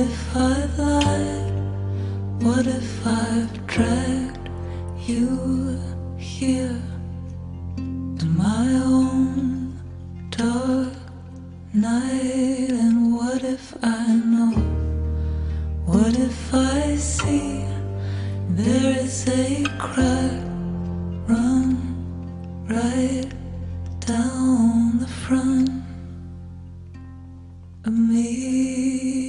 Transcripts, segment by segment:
if I've lied? What if I've dragged you here to my own dark night? And what if I know? What if I see there is a crack run right down the front of me?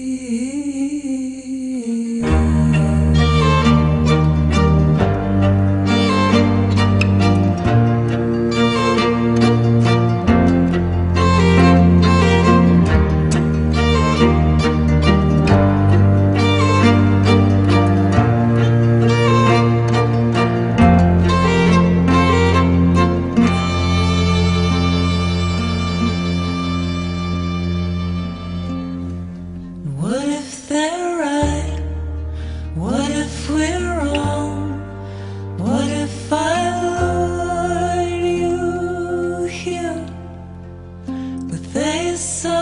What if they're right? What if we're wrong? What if I lured you here with a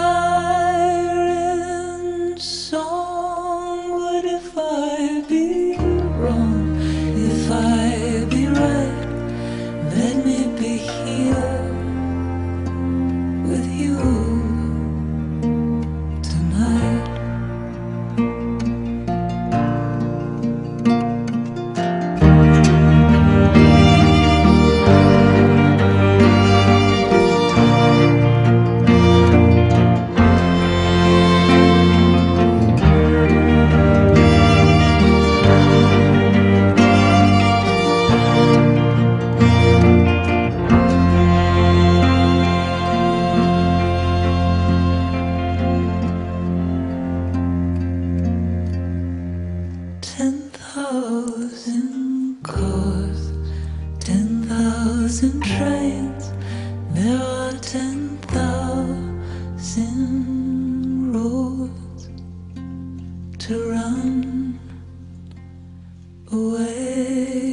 siren song? What if I be wrong? If I be right, let me be here with you tonight. 10,000 cars, 10,000 trains. There are 10,000 roads to run away.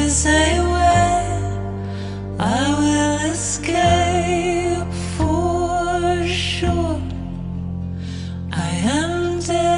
say when I will escape for sure. I am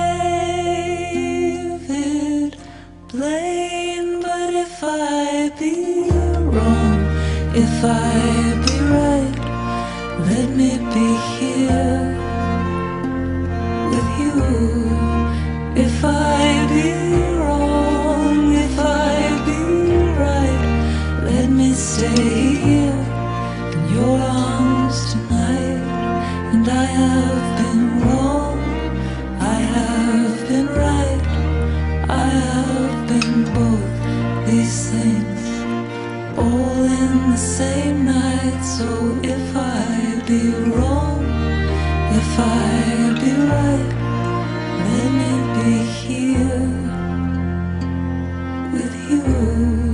David Blaine, but if I be wrong, if I be right, let me be here with you. If I be wrong, if I be right, let me stay here in your arms tonight. And I have been wrong, I have been right, I have been both these things all in the same night. So if I be wrong, if I be right, let me be here with you.